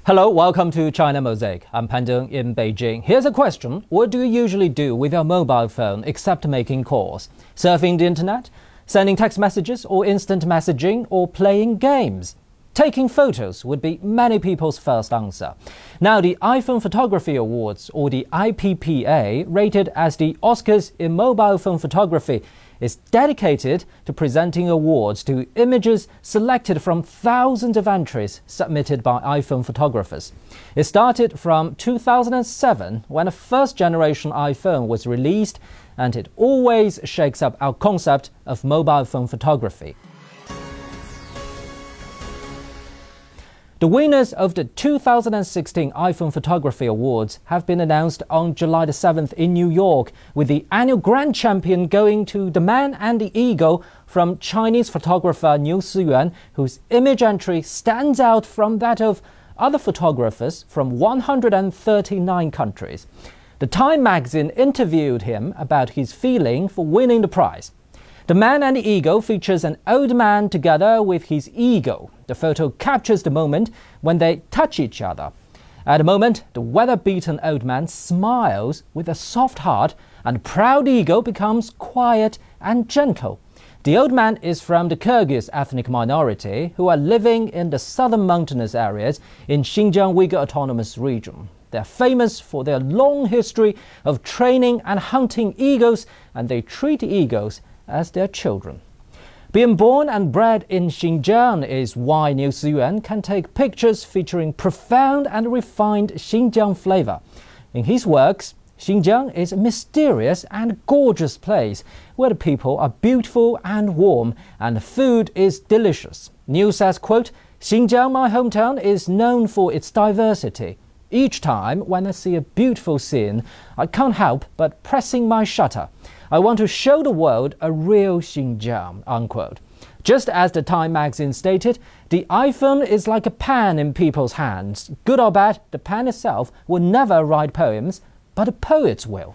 Hello, welcome to China Mosaic. I'm Pan Deng in Beijing. Here's a question. What do you usually do with your mobile phone except making calls? Surfing the internet? Sending text messages or instant messaging or playing games? Taking photos would be many people's first answer. Now, the iPhone Photography Awards, or the IPPA, rated as the Oscars in mobile phone photography, is dedicated to presenting awards to images selected from thousands of entries submitted by iPhone photographers. It started from 2007 when a first-generation iPhone was released, and it always shakes up our concept of mobile phone photography. The winners of the 2016 iPhone Photography Awards have been announced on July the 7th in New York, with the annual grand champion going to The Man and the Eagle from Chinese photographer Niu Siyuan, whose image entry stands out from that of other photographers from 139 countries. The Time magazine interviewed him about his feeling for winning the prize. The Man and the Eagle features an old man together with his eagle. The photo captures the moment when they touch each other. At the moment, the weather-beaten old man smiles with a soft heart, and the proud eagle becomes quiet and gentle. The old man is from the Kyrgyz ethnic minority who are living in the southern mountainous areas in Xinjiang Uyghur Autonomous Region. They are famous for their long history of training and hunting eagles, and they treat eagles as their children. Being born and bred in Xinjiang is why Niu Siyuan can take pictures featuring profound and refined Xinjiang flavor. In his works, Xinjiang is a mysterious and gorgeous place where the people are beautiful and warm, and the food is delicious. Niu says, quote, "Xinjiang, my hometown, is known for its diversity. Each time when I see a beautiful scene, I can't help but pressing my shutter. I want to show the world a real Xinjiang," unquote. Just as the Time magazine stated, the iPhone is like a pen in people's hands. Good or bad, the pen itself will never write poems, but the poets will.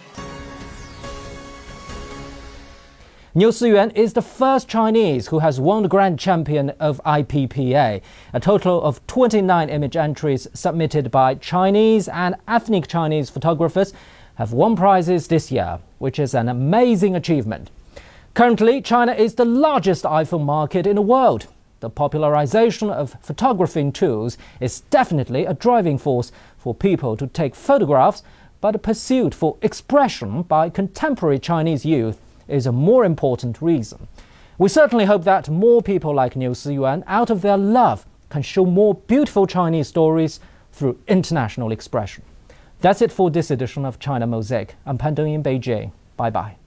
Niu Siyuan is the first Chinese who has won the grand champion of IPPA. A total of 29 image entries submitted by Chinese and ethnic Chinese photographers have won prizes this year, which is an amazing achievement. Currently, China is the largest iPhone market in the world. The popularization of photographing tools is definitely a driving force for people to take photographs, but the pursuit for expression by contemporary Chinese youth is a more important reason. We certainly hope that more people like Niu Siyuan, out of their love, can show more beautiful Chinese stories through international expression. That's it for this edition of China Mosaic. I'm Pan Deng in Beijing. Bye-bye.